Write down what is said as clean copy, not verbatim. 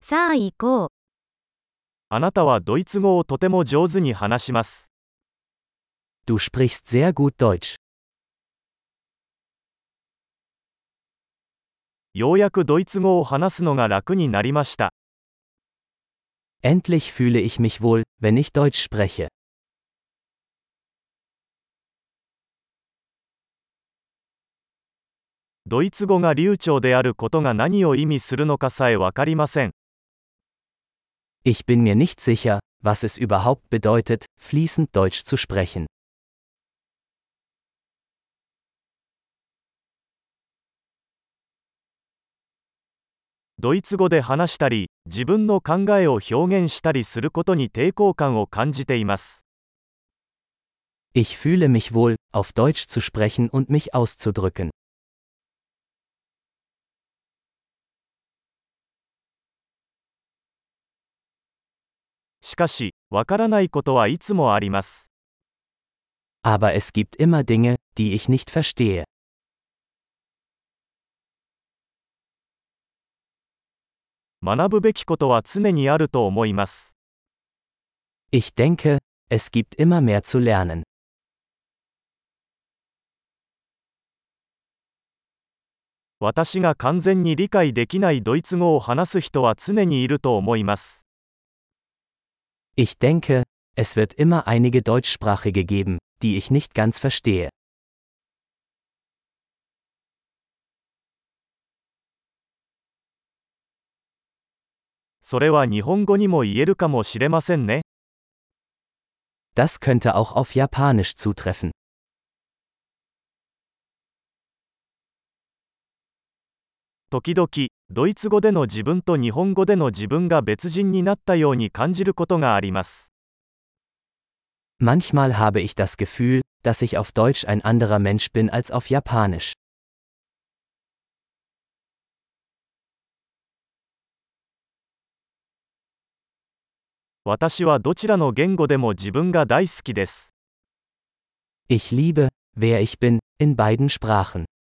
さあ行こう。 あなたはドイツ語をとても上手に話します。 Du sprichst sehr gut Deutsch. ようやくドイツ語を話すのが楽になりました。 Endlich fühle ich mich wohl, wenn ich Deutsch spreche. ドイツ語が流暢であることが何を意味するのかさえわかりません。 Ich bin mir nicht sicher, was es überhaupt bedeutet, fließend Deutsch zu sprechen. ドイツ語で話したり、自分の考えを表現したりすることに抵抗感を感じています。 Ich fühle mich wohl, auf Deutsch zu sprechen und mich auszudrücken. しかし、わからないことはいつもあります。 Aber es gibt immer Dinge, die ich nicht verstehe. 学ぶべきことは常にあると思います。 Ich denke, es gibt immer mehr zu lernen. 私が完全に理解できないドイツ語を話す人は常にいると思います。 Ich denke, es wird immer einige Deutschsprachige geben, die ich nicht ganz verstehe. それは日本語にも言えるかもしれませんね。 Das könnte auch auf Japanisch zutreffen. 時々、ドイツ語での自分と日本語での自分が別人になったように感じることがあります。 Manchmal habe ich das Gefühl, dass ich auf Deutsch ein anderer Mensch bin als auf Japanisch. 私はどちらの言語でも自分が大好きです。 Ich liebe, wer ich bin, in beiden Sprachen.